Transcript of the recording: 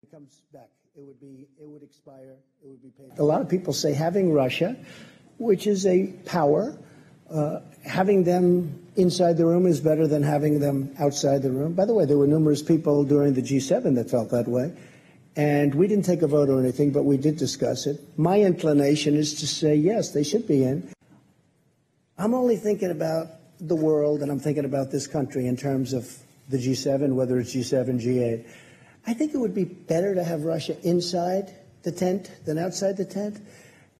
comes back. It would expire. It would be paid. A lot of people say having Russia, which is a power, having them inside the room is better than having them outside the room. By the way, there were numerous people during the G7 that felt that way. And we didn't take a vote or anything, but we did discuss it. My inclination is to say, yes, they should be in. I'm only thinking about the world, and I'm thinking about this country in terms of the G7, whether it's G7, G8. I think it would be better to have Russia inside the tent than outside the tent.